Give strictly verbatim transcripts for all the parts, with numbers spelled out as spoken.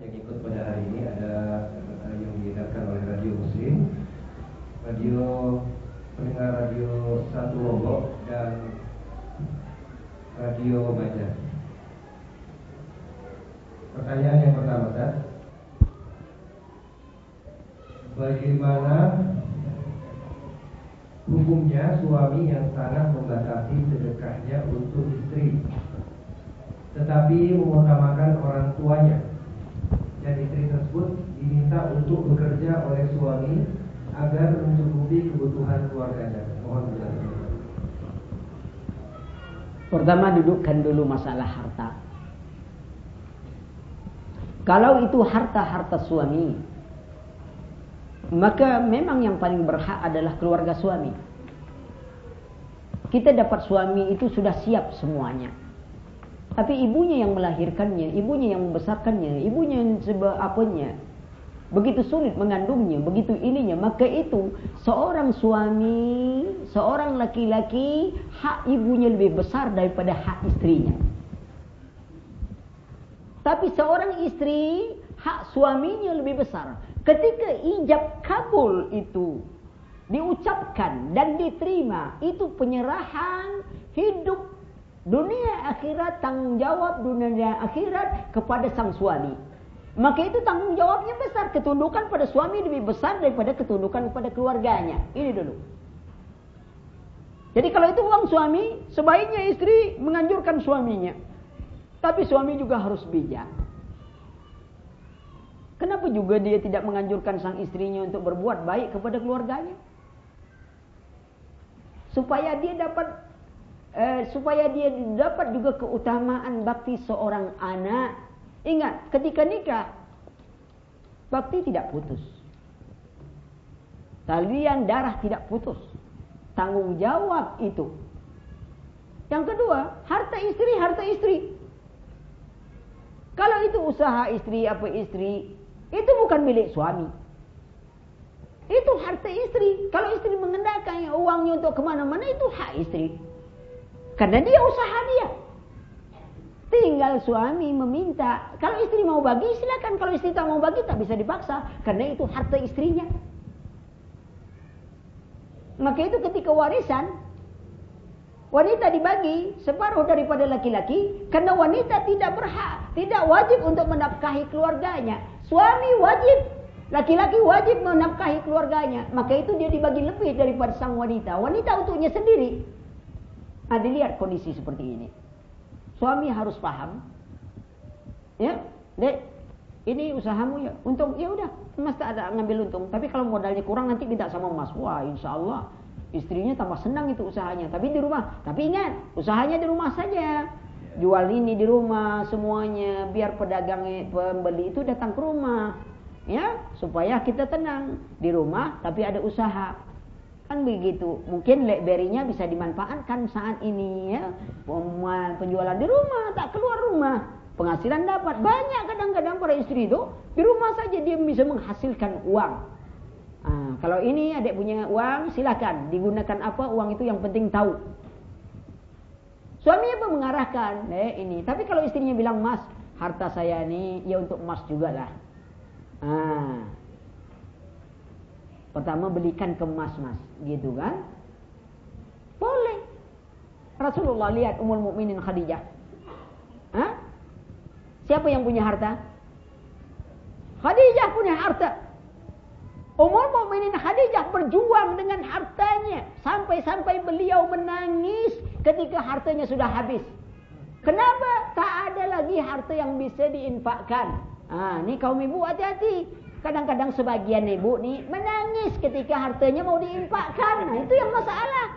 yang ikut pada hari ini ada yang diadakan oleh Radio Muslim, radio pendengar radio satu Lombok dan Radio Banjar. Pertanyaan yang pertama, Ustaz. Bagaimana hukumnya suami yang sangat membatasi sedekahnya untuk istri, tetapi mengutamakan orang tuanya, dan istri tersebut diminta untuk bekerja oleh suami agar mencukupi kebutuhan keluarganya? Mohon penjelasan. Pertama, dudukkan dulu masalah harta. Kalau itu harta-harta suami, maka memang yang paling berhak adalah keluarga suami. Kita dapat suami itu sudah siap semuanya. Tapi ibunya yang melahirkannya, ibunya yang membesarkannya, ibunya yang sebab apanya, begitu sulit mengandungnya, begitu ininya, maka itu seorang suami, seorang laki-laki, hak ibunya lebih besar daripada hak istrinya. Tapi seorang istri, hak suaminya lebih besar. Ketika ijab kabul itu diucapkan dan diterima, itu penyerahan hidup dunia akhirat, tanggung jawab dunia akhirat kepada sang suami. Maka itu tanggung jawabnya besar. Ketundukan pada suami lebih besar daripada ketundukan kepada keluarganya. Ini dulu. Jadi kalau itu uang suami, sebaiknya istri menganjurkan suaminya. Tapi suami juga harus bijak. Kenapa juga dia tidak menganjurkan sang istrinya untuk berbuat baik kepada keluarganya? Supaya dia dapat eh, supaya dia dapat juga keutamaan bakti seorang anak. Ingat, ketika nikah, bakti tidak putus. Talian darah tidak putus. Tanggung jawab itu. Yang kedua, harta istri, harta istri. Kalau itu usaha istri, apa istri, itu bukan milik suami. Itu harta istri. Kalau istri mengendalikan uangnya untuk kemana-mana, itu hak istri. Karena dia usaha dia. Tinggal suami meminta. Kalau istri mau bagi, silakan. Kalau istri tak mau bagi, tak bisa dipaksa. Karena itu harta istrinya. Maka itu ketika warisan, wanita dibagi separuh daripada laki-laki. Karena wanita tidak berhak, tidak wajib untuk menafkahi keluarganya. Suami wajib, laki-laki wajib menafkahi keluarganya. Maka itu dia dibagi lebih daripada sang wanita. Wanita untuknya sendiri. Nah, dilihat kondisi seperti ini. Suami harus paham. Ya, Dek, ini usahamu ya. Untung, ya udah, Mas tak ada ngambil untung. Tapi kalau modalnya kurang nanti minta sama Mas. Wah, insya Allah istrinya tambah senang itu usahanya. Tapi di rumah. Tapi ingat, usahanya di rumah saja. Jual ini di rumah semuanya. Biar pedagang pembeli itu datang ke rumah. Ya, supaya kita tenang. Di rumah tapi ada usaha. Kan begitu. Mungkin BlackBerry-nya bisa dimanfaatkan saat ini ya. Penjualan di rumah, tak keluar rumah. Penghasilan dapat. Banyak kadang-kadang para istri itu di rumah saja dia bisa menghasilkan uang. Nah, kalau ini adik punya uang, silakan digunakan apa uang itu yang penting tahu. Suami apa mengarahkan, eh ini. Tapi kalau istrinya bilang, Mas, harta saya ini ya untuk Mas juga lah. Nah, pertama belikan ke Mas, Mas, gitu kan? Boleh. Rasulullah lihat Ummul Mukminin Khadijah. Hah? Siapa yang punya harta? Khadijah punya harta. Ummul Mukminin Khadijah berjuang dengan hartanya. Sampai-sampai beliau menangis ketika hartanya sudah habis. Kenapa? Tak ada lagi harta yang bisa diinfakkan. Ah, ini kaum ibu hati-hati. Kadang-kadang sebagian ibu nih menangis ketika hartanya mau diinfakkan. Nah, itu yang masalah.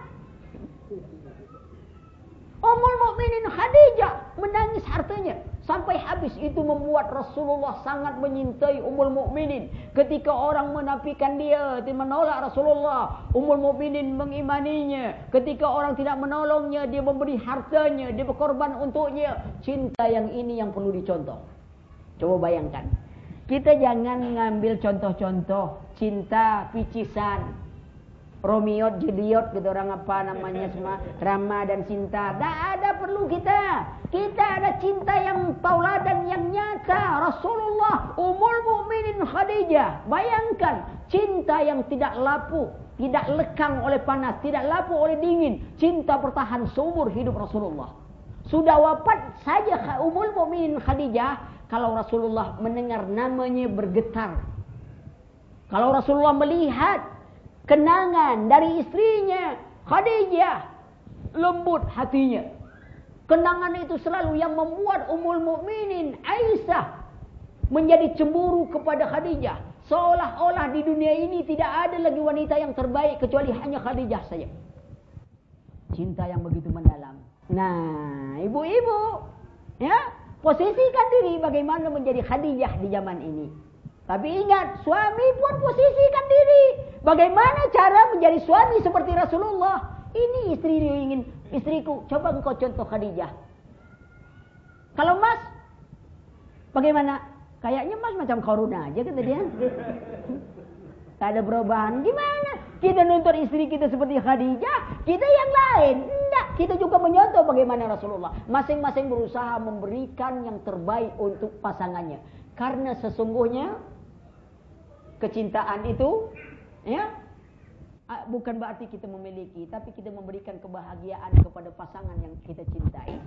Ummul Mukminin Khadijah menangis hartanya sampai habis. Itu membuat Rasulullah sangat menyintai Ummul Mukminin. Ketika orang menafikan dia, dia menolak Rasulullah, Ummul Mukminin mengimaninya. Ketika orang tidak menolongnya, dia memberi hartanya, dia berkorban untuknya. Cinta yang ini yang perlu dicontoh. Coba bayangkan. Kita jangan ngambil contoh-contoh cinta picisan. Romeo, Juliet gitu orang apa namanya semua, Rama dan Sinta. Tak ada perlu kita. Kita ada cinta yang tauladan yang nyata. Rasulullah, Ummul Mukminin Khadijah. Bayangkan cinta yang tidak lapuk, tidak lekang oleh panas, tidak lapuk oleh dingin. Cinta bertahan seumur hidup Rasulullah. Sudah wafat saja Ummul Mukminin Khadijah, kalau Rasulullah mendengar namanya bergetar. Kalau Rasulullah melihat kenangan dari istrinya Khadijah, lembut hatinya. Kenangan itu selalu yang membuat Ummul Mukminin Aisyah menjadi cemburu kepada Khadijah. Seolah-olah di dunia ini tidak ada lagi wanita yang terbaik kecuali hanya Khadijah saja. Cinta yang begitu mendalam. Nah, ibu-ibu, ya, posisikan diri bagaimana menjadi Khadijah di zaman ini. Tapi ingat, suami pun posisikan diri. Bagaimana cara menjadi suami seperti Rasulullah? Ini istri dia ingin, istriku, coba engkau contoh Khadijah. Kalau Mas, bagaimana? Kayaknya Mas macam Koruna aja kata dia. Tak ada perubahan. Gimana? Kita nuntut istri kita seperti Khadijah, kita yang lain. Enggak, kita juga menyontoh bagaimana Rasulullah. Masing-masing berusaha memberikan yang terbaik untuk pasangannya. Karena sesungguhnya kecintaan itu, ya, bukan berarti kita memiliki, tapi kita memberikan kebahagiaan kepada pasangan yang kita cintai.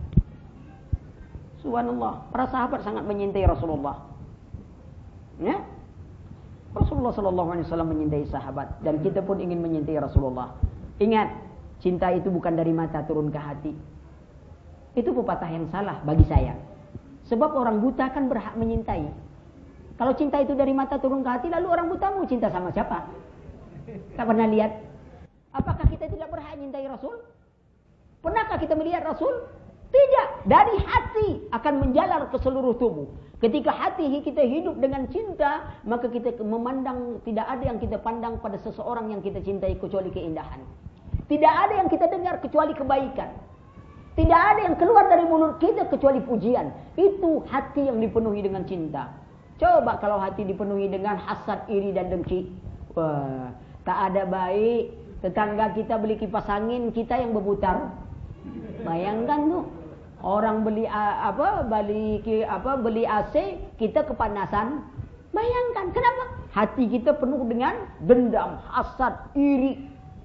Subhanallah, para sahabat sangat menyintai Rasulullah. Ya, Rasulullah Sallallahu Alaihi Wasallam menyintai sahabat, dan kita pun ingin menyintai Rasulullah. Ingat, cinta itu bukan dari mata turun ke hati. Itu pepatah yang salah bagi saya. Sebab orang buta kan berhak menyintai. Kalau cinta itu dari mata turun ke hati, lalu orang buta mau cinta sama siapa? Tak pernah lihat. Apakah kita tidak berhak menyintai Rasul? Pernahkah kita melihat Rasul? Tidak. Dari hati akan menjalar ke seluruh tubuh. Ketika hati kita hidup dengan cinta, maka kita memandang, tidak ada yang kita pandang pada seseorang yang kita cintai kecuali keindahan. Tidak ada yang kita dengar kecuali kebaikan. Tidak ada yang keluar dari mulut kita kecuali pujian. Itu hati yang dipenuhi dengan cinta. Coba kalau hati dipenuhi dengan hasad, iri dan dengki. Wah, tak ada baik. Tetangga kita beli kipas angin, kita yang berputar. Bayangkan tuh. Orang beli apa beli apa beli A C, kita kepanasan. Bayangkan kenapa? Hati kita penuh dengan dendam, hasad, iri,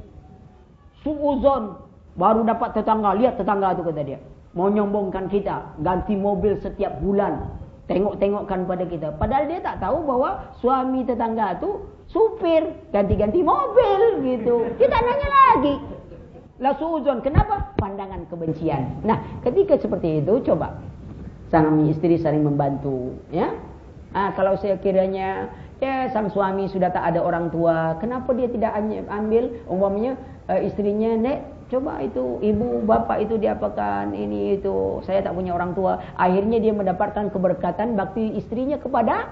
suuzon. Baru dapat tetangga, lihat tetangga itu kata dia, mau nyombongkan kita, ganti mobil setiap bulan, tengok-tengokkan pada kita. Padahal dia tak tahu bahwa suami tetangga itu supir, ganti-ganti mobil gitu. Kita nanya lagi. La suuzon, kenapa? Pandangan kebencian. Nah, ketika seperti itu, coba sang istri saling membantu, ya. Ah, kalau saya kiranya, ya sang suami sudah tak ada orang tua, kenapa dia tidak ambil, umpamanya uh, istrinya, Nek, coba itu ibu bapak itu diapakan ini itu, saya tak punya orang tua. Akhirnya dia mendapatkan keberkatan bakti istrinya kepada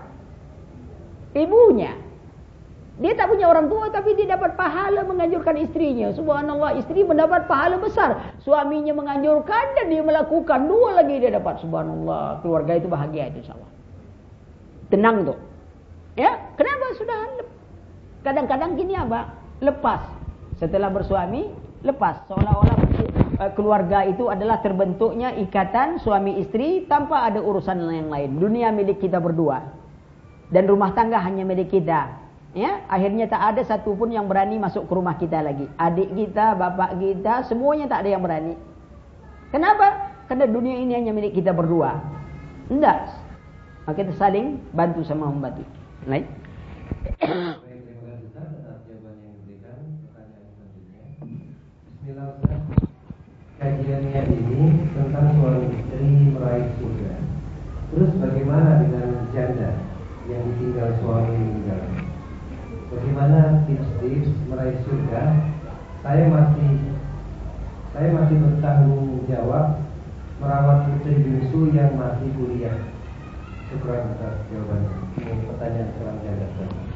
ibunya. Dia tak punya orang tua tapi dia dapat pahala menganjurkan istrinya. Subhanallah, istri mendapat pahala besar. Suaminya menganjurkan dan dia melakukan, dua lagi dia dapat. Subhanallah, keluarga itu bahagia itu insyaallah. Tenang tuh. Ya, kenapa sudah kadang-kadang gini apa? Lepas. Setelah bersuami, lepas. Seolah-olah keluarga itu adalah terbentuknya ikatan suami istri tanpa ada urusan yang lain. Dunia milik kita berdua. Dan rumah tangga hanya milik kita. Ya, akhirnya tak ada satupun yang berani masuk ke rumah kita lagi. Adik kita, bapak kita, semuanya tak ada yang berani. Kenapa? Karena dunia ini hanya milik kita berdua. Enggak. Maka kita saling bantu sama membantu. Baik. Terima kasih Ustaz atas jawaban yang diberikan. Pertanyaan selanjutnya. Bismillah Ustaz. Kajiannya ini tentang suami istri meraih surga. Terus bagaimana dengan janda yang ditinggal suami meninggal? Bagaimana tips-tips meraih surga? Saya masih saya masih bertanggung jawab merawat putri bungsu yang masih kuliah. Syukran atas jawabannya. Ini pertanyaan seorang janda.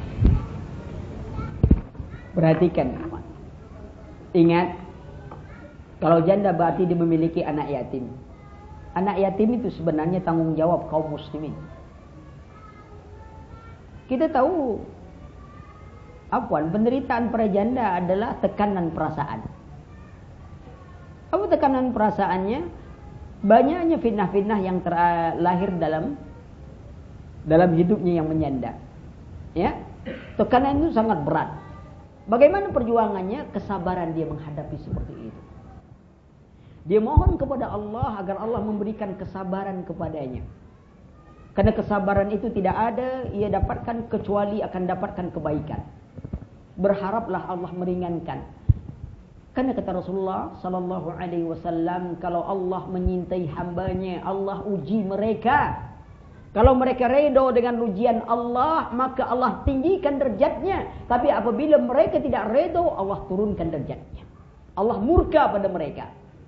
Perhatikan, ingat, kalau janda berarti dia memiliki anak yatim. Anak yatim itu sebenarnya tanggung jawab kaum muslimin. Kita tahu Afwan, penderitaan para janda adalah tekanan perasaan. Apa tekanan perasaannya? Banyaknya fitnah-fitnah yang terlahir dalam dalam hidupnya yang menjanda. Ya, tekanan itu sangat berat. Bagaimana perjuangannya? Kesabaran dia menghadapi seperti itu. Dia mohon kepada Allah agar Allah memberikan kesabaran kepadanya. Karena kesabaran itu tidak ada ia dapatkan kecuali akan dapatkan kebaikan. Berharaplah Allah meringankan. Karena kata Rasulullah sallallahu alaihi wasallam, kalau Allah menyintai hambanya, Allah uji mereka. Kalau mereka redha dengan ujian Allah, maka Allah tinggikan derajatnya. Tapi apabila mereka tidak redha, Allah turunkan derajatnya. Allah murka pada mereka.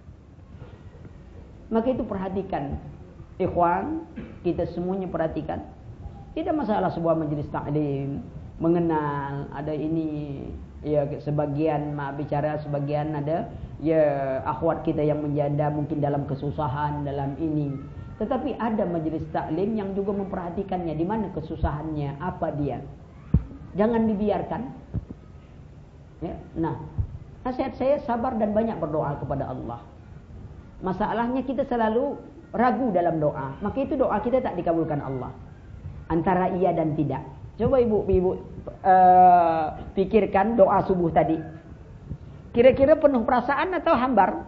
Maka itu perhatikan, ikhwan, kita semuanya perhatikan. Tidak masalah sebuah majelis taklim mengenal ada ini, ya sebagian mak bicara, sebagian ada ya akhwat kita yang menjanda mungkin dalam kesusahan dalam ini. Tetapi ada majelis taklim yang juga memperhatikannya, di mana kesusahannya, apa dia. Jangan dibiarkan. Ya, nah, nasihat saya sabar dan banyak berdoa kepada Allah. Masalahnya kita selalu ragu dalam doa, maka itu doa kita tak dikabulkan Allah. Antara iya dan tidak. Coba ibu-ibu uh, pikirkan doa subuh tadi. Kira-kira penuh perasaan atau hambar?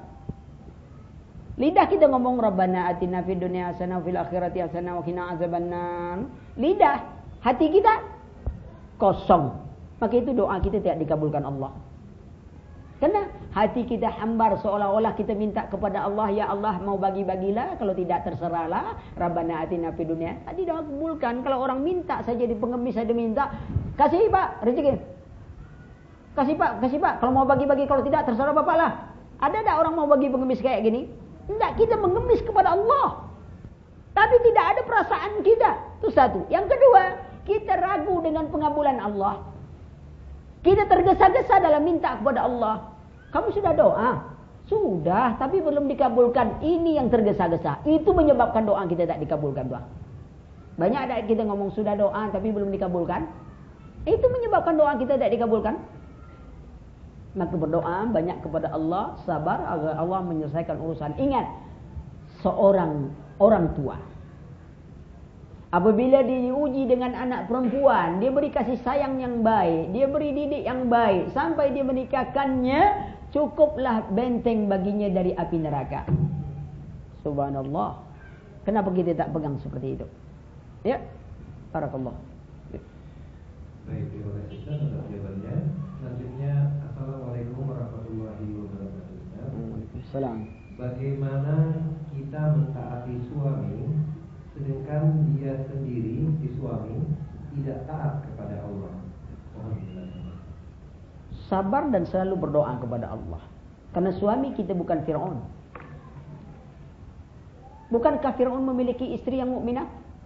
Lidah kita ngomong Rabbana atina fid dunya hasanah wa fil akhirati hasanah wa qina azabannar. Lidah, hati kita kosong. Maka itu doa kita tidak dikabulkan Allah. Karena hati kita hambar, seolah-olah kita minta kepada Allah, ya Allah mau bagi-bagilah, kalau tidak terserahlah. Rabbana atina fid dunya. Tadi dah kabulkan. Kalau orang minta saja di pengemis saja minta, kasih Pak rezeki. Kasih Pak, kasih Pak. Kalau mau bagi-bagi, kalau tidak terserah Bapak lah. Ada tak orang mau bagi pengemis kayak gini? Tidak, kita mengemis kepada Allah. Tapi tidak ada perasaan kita. Itu satu. Yang kedua, kita ragu dengan pengabulan Allah. Kita tergesa-gesa dalam minta kepada Allah. Kamu sudah doa? Sudah, tapi belum dikabulkan. Ini yang tergesa-gesa. Itu menyebabkan doa kita tak dikabulkan, doa. Banyak ada kita ngomong sudah doa tapi belum dikabulkan. Itu menyebabkan doa kita tak dikabulkan. Maka berdoa banyak kepada Allah, sabar agar Allah menyelesaikan urusan. Ingat, seorang orang tua apabila diuji dengan anak perempuan, dia beri kasih sayang yang baik, dia beri didik yang baik, sampai dia menikahkannya, cukuplah benteng baginya dari api neraka. Subhanallah. Kenapa kita tak pegang seperti itu? Ya, barakallah. Baik, terima kasih Ustaz atas jawabannya. Selanjutnya, Assalamualaikum warahmatullahi wabarakatuh. Waalaikumsalam. Bagaimana kita mentaati suami sedangkan dia sendiri, si suami, tidak taat kepada Allah? Mohon penjelasannya. Sabar dan selalu berdoa kepada Allah. Karena suami kita bukan Fir'aun. Bukankah Fir'aun memiliki istri yang mukminah?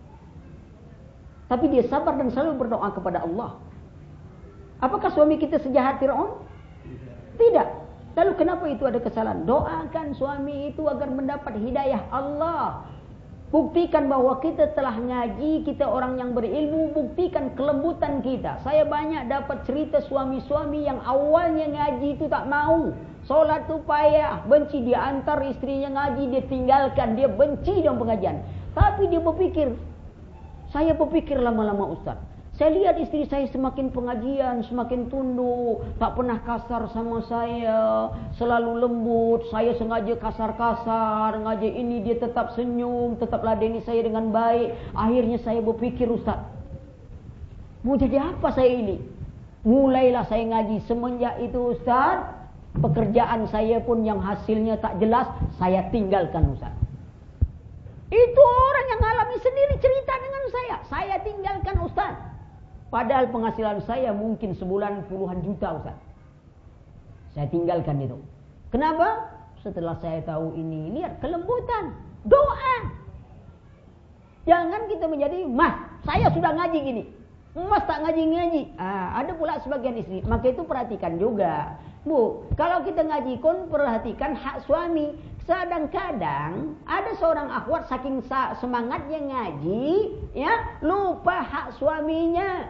Tapi dia sabar dan selalu berdoa kepada Allah. Apakah suami kita sejahat Fir'aun? Tidak. Lalu kenapa itu ada kesalahan? Doakan suami itu agar mendapat hidayah Allah. Buktikan bahwa kita telah ngaji, kita orang yang berilmu, buktikan kelembutan kita. Saya banyak dapat cerita suami-suami yang awalnya ngaji itu tak mau. Solat itu payah, benci, dia antar istrinya ngaji, dia tinggalkan, dia benci dalam pengajian. Tapi dia berpikir, saya berpikir lama-lama Ustaz, saya lihat istri saya semakin pengajian, semakin tunduk, tak pernah kasar sama saya, selalu lembut. Saya sengaja kasar-kasar, ngaji ini dia tetap senyum, tetap ladeni saya dengan baik. Akhirnya saya berpikir, Ustaz, mau jadi apa saya ini? Mulailah saya ngaji. Semenjak itu Ustaz, pekerjaan saya pun yang hasilnya tak jelas, saya tinggalkan Ustaz. Itu orang yang alami sendiri cerita dengan saya. Saya tinggalkan Ustaz. Padahal penghasilan saya mungkin sebulan puluhan juta Ustaz. Saya tinggalkan itu. Kenapa? Setelah saya tahu ini, lihat kelembutan, doa. Jangan kita menjadi, mas, saya sudah ngaji gini, mas tak ngaji-ngaji. Ah, ada pula sebagian istri. Maka itu perhatikan juga, Bu, kalau kita ngaji kon perhatikan hak suami. Kadang-kadang ada seorang akhwat saking semangatnya ngaji, ya lupa hak suaminya.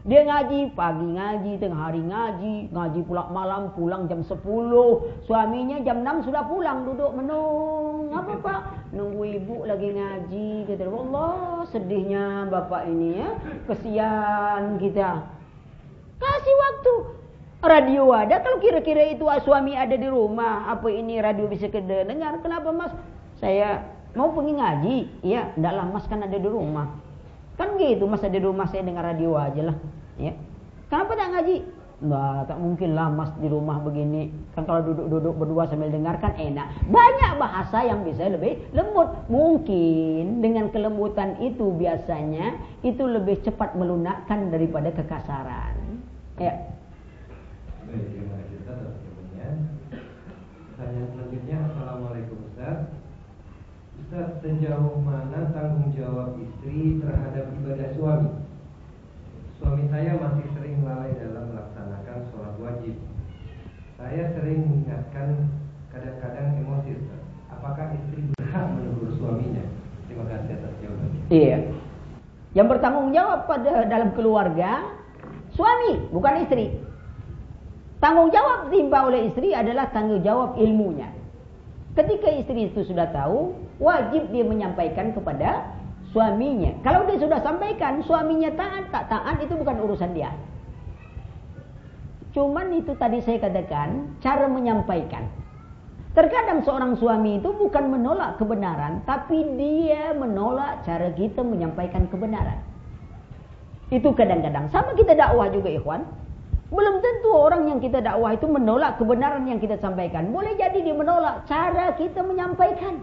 Dia ngaji, pagi ngaji, tengah hari ngaji, ngaji pula malam, pulang jam sepuluh. Suaminya jam enam sudah pulang, duduk menung. Apa Pak? Nunggu ibu lagi ngaji. Kata Allah, sedihnya bapak ini ya. Kesian kita. Kasih waktu. Radio ada, kalau kira-kira itu suami ada di rumah, apa ini radio bisa kedengar? Kenapa Mas? Saya mau pergi ngaji. Iya, ndaklah Mas kan ada di rumah. Kan gitu, Mas ada di rumah, saya dengar radio aja lah. Ya. Kenapa tak ngaji? Nah, tak mungkin lah Mas di rumah begini. Kan kalau duduk-duduk berdua sambil dengarkan enak. Banyak bahasa yang bisa lebih lembut. Mungkin dengan kelembutan itu biasanya itu lebih cepat melunakkan daripada kekasaran. Ya. Baik, terima kasih Ustaz atas jawabannya. Pertanyaan selanjutnya, Assalamualaikum Ustaz. Ustaz, sejauh mana tanggung jawab istri terhadap ibadah suami? Suami saya masih sering lalai dalam melaksanakan sholat wajib. Saya sering mengingatkan, kadang-kadang emosi Ustaz. Apakah istri berhak menegur suaminya? Terima kasih atas jawabannya. Iya. Yang bertanggung jawab pada dalam keluarga suami, bukan istri. Tanggung jawab ditimpa oleh istri adalah tanggung jawab ilmunya. Ketika istri itu sudah tahu, wajib dia menyampaikan kepada suaminya. Kalau dia sudah sampaikan, suaminya taat tak taat itu bukan urusan dia. Cuman itu tadi saya katakan, cara menyampaikan. Terkadang seorang suami itu bukan menolak kebenaran, tapi dia menolak cara kita menyampaikan kebenaran. Itu kadang-kadang. Sama kita dakwah juga ikhwan. Belum tentu orang yang kita dakwah itu menolak kebenaran yang kita sampaikan. Boleh jadi dia menolak cara kita menyampaikan.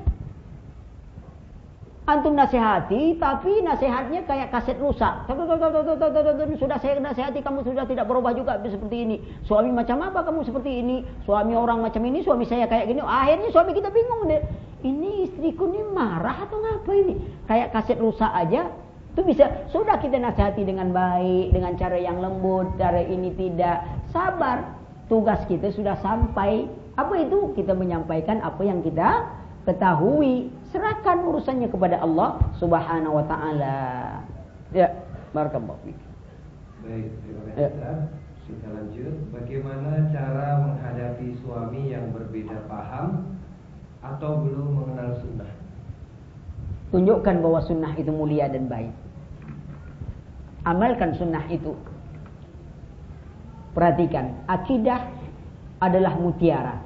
Antum nasihati, tapi nasihatnya kayak kaset rusak. Sudah saya nasihati, kamu sudah tidak berubah juga seperti ini. Suami macam apa kamu seperti ini? Suami orang macam ini, suami saya kayak gini. Akhirnya suami kita bingung deh. Ini istriku ini marah atau ngapa ini? Kayak kaset rusak aja. Itu bisa, sudah kita nasihati dengan baik, dengan cara yang lembut, cara ini tidak. Sabar, tugas kita sudah sampai. Apa itu? Kita menyampaikan apa yang kita ketahui. Serahkan urusannya kepada Allah Subhanahu wa taala. Ya, barakallahu fiik. Baik, terima kasih Ustaz. Kita lanjut. Bagaimana cara menghadapi suami yang berbeda paham atau belum mengenal sunnah? Tunjukkan bahwa sunnah itu mulia dan baik. Amalkan sunnah itu. Perhatikan, akidah adalah mutiara.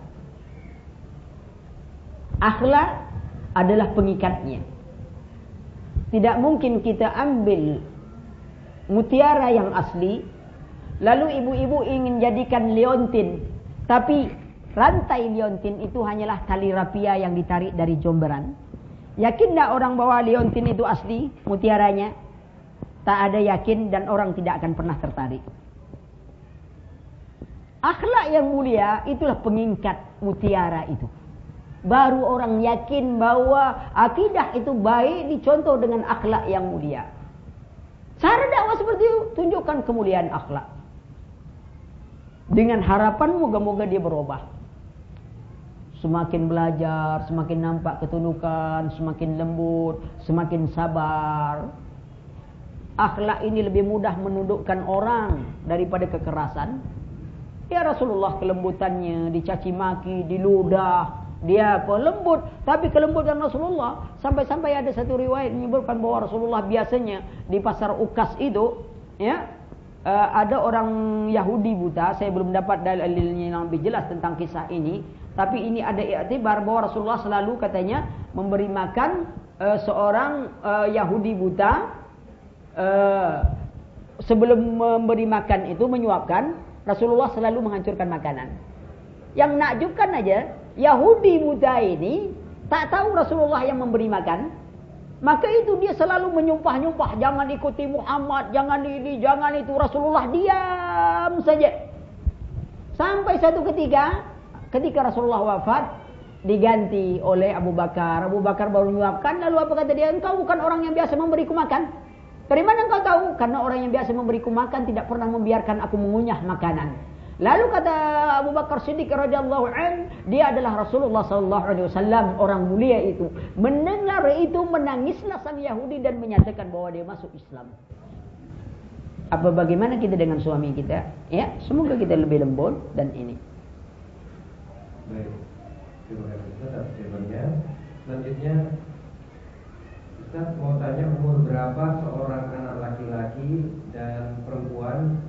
Akhlak adalah pengikatnya. Tidak mungkin kita ambil mutiara yang asli, lalu ibu-ibu ingin jadikan liontin, tapi rantai liontin itu hanyalah tali rapia yang ditarik dari jomberan. Yakin tak orang bahwa liontin itu asli mutiaranya? Tak ada yakin dan orang tidak akan pernah tertarik. Akhlak yang mulia itulah pengikat mutiara itu. Baru orang yakin bahwa akidah itu baik dicontoh dengan akhlak yang mulia. Cara dakwah seperti itu, tunjukkan kemuliaan akhlak. Dengan harapan moga-moga dia berubah. Semakin belajar, semakin nampak ketundukan, semakin lembut, semakin sabar. Akhlak ini lebih mudah menundukkan orang daripada kekerasan. Ya Rasulullah kelembutannya, dicaci maki, diludah. Dia apa? Lembut. Tapi kelembutan Rasulullah, sampai-sampai ada satu riwayat menyebutkan bahwa Rasulullah biasanya di pasar Ukas itu, ya, uh, ada orang Yahudi buta. Saya belum dapat dalilnya yang lebih jelas tentang kisah ini. Tapi ini ada iktibar bahwa Rasulullah selalu katanya memberi makan uh, seorang uh, Yahudi buta. Uh, sebelum memberi makan itu, menyuapkan, Rasulullah selalu menghancurkan makanan. Yang nakjubkan aja, Yahudi buta ini tak tahu Rasulullah yang memberi makan. Maka itu dia selalu menyumpah-nyumpah, jangan ikuti Muhammad, jangan ini, jangan itu. Rasulullah diam saja. Sampai satu ketika, ketika Rasulullah wafat, diganti oleh Abu Bakar. Abu Bakar baru menyuapkan, lalu apa kata dia? Engkau bukan orang yang biasa memberiku makan. Dari mana engkau tahu? Karena orang yang biasa memberiku makan tidak pernah membiarkan aku mengunyah makanan. Lalu kata Abu Bakar Siddiq radhiyallahu an, dia adalah Rasulullah sallallahu alaihi wasallam, orang mulia itu. Mendengar itu menangislah sang Yahudi dan menyatakan bahwa dia masuk Islam. Apa bagaimana kita dengan suami kita? Ya, semoga kita lebih lembut dan ini. Baik, terima kasih Ustaz atas jawabannya. Selanjutnya, Ustaz mau tanya umur berapa seorang anak laki-laki dan perempuan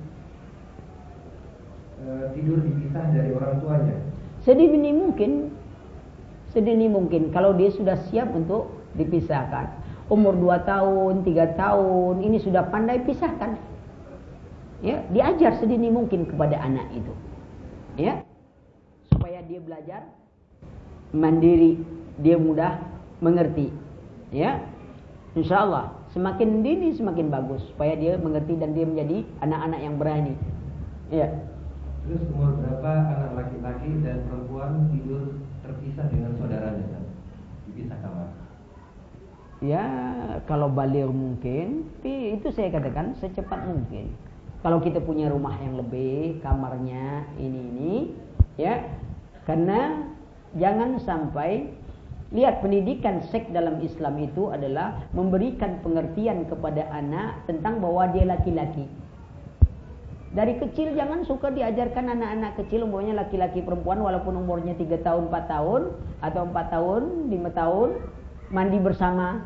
e, tidur dipisah dari orang tuanya? Sedini mungkin, sedini mungkin kalau dia sudah siap untuk dipisahkan. Umur dua tahun, tiga tahun, ini sudah pandai pisahkan. Ya, diajar sedini mungkin kepada anak itu. Ya. Supaya dia belajar mandiri, dia mudah mengerti. Ya. Insyaallah semakin dini semakin bagus supaya dia mengerti dan dia menjadi anak-anak yang berani. Ya. Terus umur berapa anak laki-laki dan perempuan tidur terpisah dengan saudaranya kan? Dipisah kamar. Ya, kalau baligh mungkin, tapi itu saya katakan secepat mungkin. Kalau kita punya rumah yang lebih, kamarnya ini-ini, ya. Karena jangan sampai, lihat pendidikan seks dalam Islam itu adalah memberikan pengertian kepada anak tentang bahwa dia laki-laki. Dari kecil jangan suka diajarkan anak-anak kecil, umurnya laki-laki perempuan walaupun umurnya tiga tahun, empat tahun, atau empat tahun, lima tahun, mandi bersama.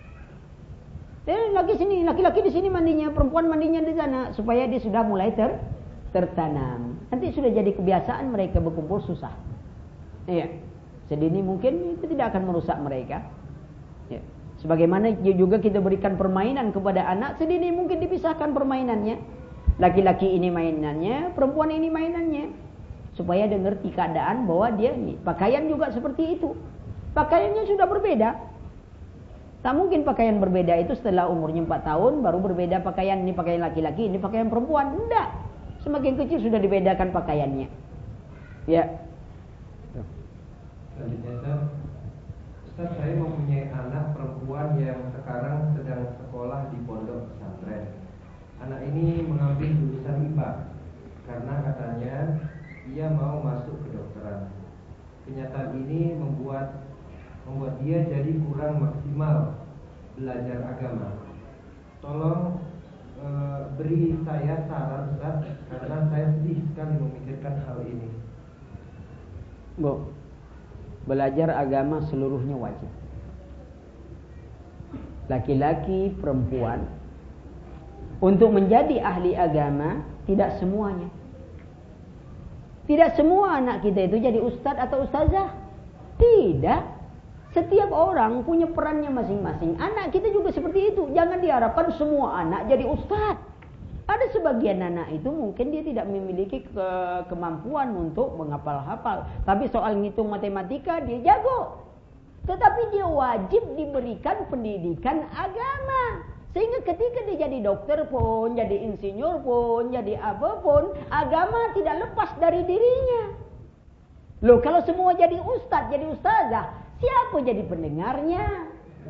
Eh, laki sini, laki-laki di sini mandinya, perempuan mandinya di sana, supaya dia sudah mulai ter tertanam. Nanti sudah jadi kebiasaan mereka berkumpul susah. Iya. Sedini mungkin itu tidak akan merusak mereka. Ya. Sebagaimana juga kita berikan permainan kepada anak, sedini mungkin dipisahkan permainannya. Laki-laki ini mainannya, perempuan ini mainannya. Supaya dia ngerti keadaan bahwa dia ini. Pakaian juga seperti itu. Pakaiannya sudah berbeda. Tak mungkin pakaian berbeda itu setelah umurnya empat tahun baru berbeda pakaian, ini pakaian laki-laki, ini pakaian perempuan. Tidak. Semakin kecil sudah dibedakan pakaiannya. Ya. Selanjutnya Ustaz, Ustaz saya mempunyai anak perempuan yang sekarang sedang sekolah di pondok pesantren. Anak ini mengambil jurusan I P A karena katanya ia mau masuk kedokteran. Kenyataan ini membuat membuat dia jadi kurang maksimal belajar agama. Tolong e, beri saya saran Ustaz, karena saya sedih sekali memikirkan hal ini. Bu, belajar agama seluruhnya wajib. Laki-laki, perempuan. Untuk menjadi ahli agama, tidak semuanya. Tidak semua anak kita itu jadi ustadz atau ustazah. Tidak. Setiap orang punya perannya masing-masing. Anak kita juga seperti itu. Jangan diharapkan semua anak jadi ustaz. Ada sebagian anak itu mungkin dia tidak memiliki ke kemampuan untuk menghafal-hafal. Tapi soal ngitung matematika dia jago. Tetapi dia wajib diberikan pendidikan agama. Sehingga ketika dia jadi dokter pun, jadi insinyur pun, jadi apapun, agama tidak lepas dari dirinya. Loh, kalau semua jadi ustaz, jadi ustazah, siapa jadi pendengarnya?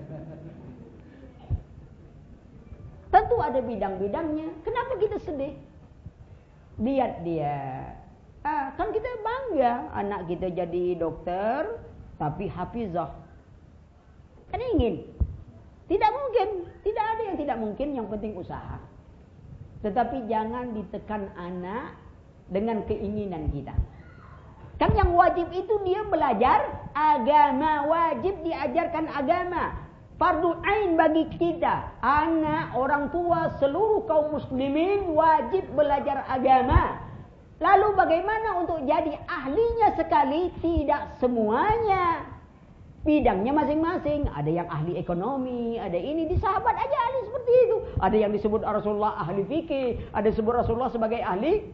Tentu ada bidang-bidangnya. Kenapa kita sedih? Lihat dia. Ah, kan kita bangga anak kita jadi dokter, tapi hafizah. Kan ingin. Tidak mungkin. Tidak ada yang tidak mungkin, yang penting usaha. Tetapi jangan ditekan anak dengan keinginan kita. Kan yang wajib itu dia belajar agama, wajib diajarkan agama. Fardu ain bagi kita, anak, orang tua, seluruh kaum muslimin wajib belajar agama. Lalu bagaimana untuk jadi ahlinya sekali? Tidak semuanya. Bidangnya masing-masing. Ada yang ahli ekonomi, ada ini. Di sahabat aja ahli seperti itu. Ada yang disebut Rasulullah ahli fikih, ada disebut Rasulullah sebagai ahli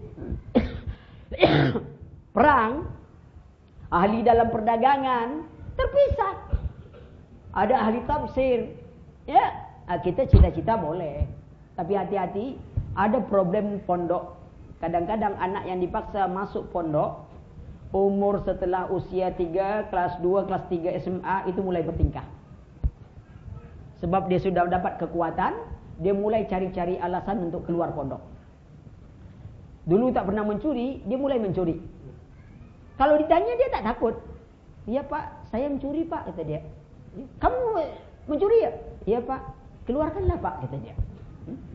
perang, ahli dalam perdagangan, terpisah. Ada ahli tafsir. Ya, kita cita-cita boleh. Tapi hati-hati, ada problem pondok. Kadang-kadang anak yang dipaksa masuk pondok, umur setelah usia tiga, kelas dua, kelas tiga S M A itu mulai bertingkah. Sebab dia sudah dapat kekuatan, dia mulai cari-cari alasan untuk keluar pondok. Dulu tak pernah mencuri, dia mulai mencuri. Kalau ditanya dia tak takut. Iya Pak, saya mencuri Pak, kata dia. Kamu mencuri ya? Iya Pak, keluarkanlah Pak, kata dia.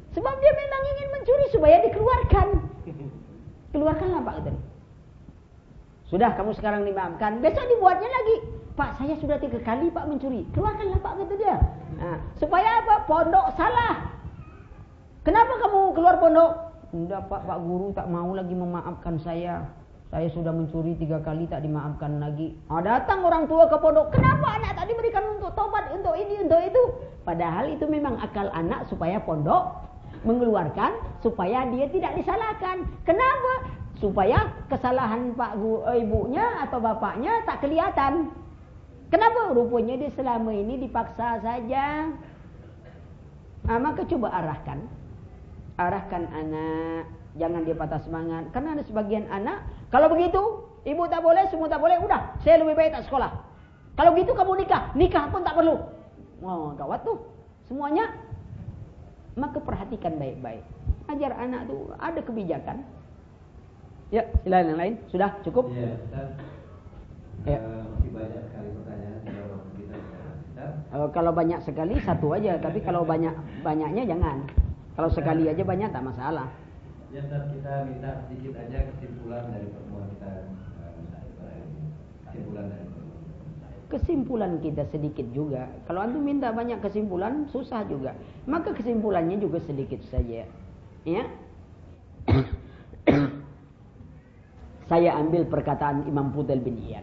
Sebab dia memang ingin mencuri supaya dikeluarkan. Keluarkanlah Pak kata dia. Sudah kamu sekarang dimaafkan, besok dibuatnya lagi. Pak, saya sudah tiga kali Pak mencuri. Keluarkanlah Pak kata dia. Nah, supaya apa? Pondok salah. Kenapa kamu keluar pondok? Enggak Pak, Pak Guru tak mau lagi memaafkan saya. Saya sudah mencuri tiga kali tak dimaafkan lagi. Ah, datang orang tua ke pondok. Kenapa anak tak diberikan untuk tobat, untuk ini, untuk itu? Padahal itu memang akal anak supaya pondok mengeluarkan, supaya dia tidak disalahkan. Kenapa? Supaya kesalahan Pak Guru, ibunya atau bapaknya tak kelihatan. Kenapa? Rupanya dia selama ini dipaksa saja. Nah, maka coba arahkan. Arahkan anak. Jangan dia patah semangat. Karena ada sebagian anak, kalau begitu, ibu tak boleh, semua tak boleh, udah, saya lebih baik tak sekolah. Kalau gitu kamu nikah, nikah pun tak perlu. Oh, gawat tuh. Semuanya. Maka perhatikan baik-baik. Ajar anak tuh ada kebijakan. Ya, silakan yang lain. Sudah cukup? Iya, Ustaz. Ya. Uh, masih banyak sekali pertanyaan kalau kita Ustaz. Uh, kalau banyak sekali satu aja, tapi kalau banyak banyaknya jangan. Kalau sekali aja banyak tak masalah. Ya Ustaz, kita minta sedikit aja kesimpulan dari pertemuan kita uh, kesimpulan dari pertemuan. Kesimpulan kita sedikit juga. Kalau antum minta banyak kesimpulan susah juga. Maka kesimpulannya juga sedikit saja. Ya. Saya ambil perkataan Imam Fudail bin Iyad.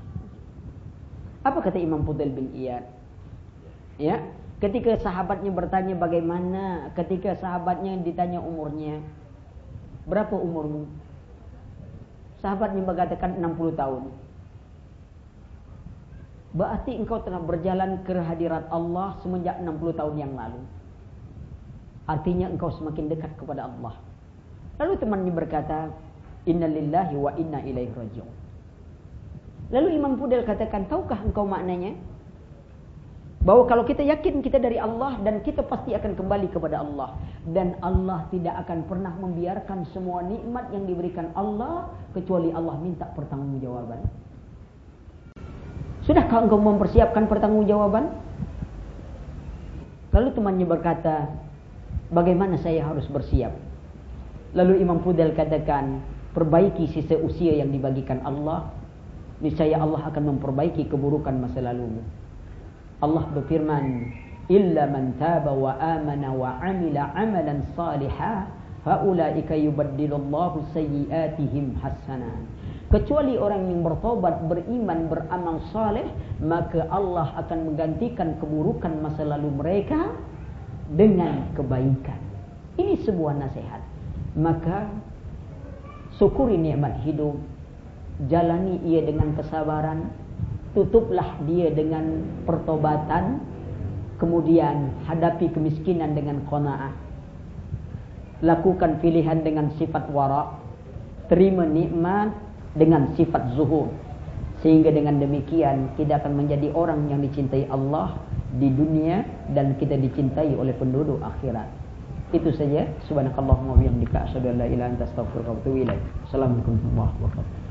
Apa kata Imam Fudail bin Iyad? Ya, ketika sahabatnya bertanya bagaimana, ketika sahabatnya ditanya umurnya, berapa umurmu? Sahabatnya mengatakan enam puluh tahun. Berarti engkau telah berjalan ke hadirat Allah semenjak enam puluh tahun yang lalu. Artinya engkau semakin dekat kepada Allah. Lalu temannya berkata, Inna lillahi wa inna ilaihi raji'un. Lalu Imam Fudail katakan, tahukah engkau maknanya? Bahwa kalau kita yakin kita dari Allah dan kita pasti akan kembali kepada Allah. Dan Allah tidak akan pernah membiarkan semua nikmat yang diberikan Allah kecuali Allah minta pertanggungjawaban. Sudahkah engkau mempersiapkan pertanggungjawaban? Lalu temannya berkata, bagaimana saya harus bersiap? Lalu Imam Fudail katakan, perbaiki sisa usia yang dibagikan Allah, niscaya Allah akan memperbaiki keburukan masa lalumu. Allah berfirman, illa man taba wa amana wa amila amalan salihah, haulaika yubaddilullahu sayyiatihim hasanat. Kecuali orang yang bertobat, beriman, beramal saleh, maka Allah akan menggantikan keburukan masa lalu mereka dengan kebaikan. Ini sebuah nasihat. Maka syukuri nikmat hidup, jalani ia dengan kesabaran, tutuplah dia dengan pertobatan, kemudian hadapi kemiskinan dengan qanaah, lakukan pilihan dengan sifat wara, terima nikmat dengan sifat zuhud, sehingga dengan demikian kita akan menjadi orang yang dicintai Allah di dunia dan kita dicintai oleh penduduk akhirat. Itu saja. Subhanakallahumma wa bihamdika asyhadu an la ilaha illa anta astaghfiruka wa atubu ilaik. Assalamualaikum warahmatullahi wabarakatuh.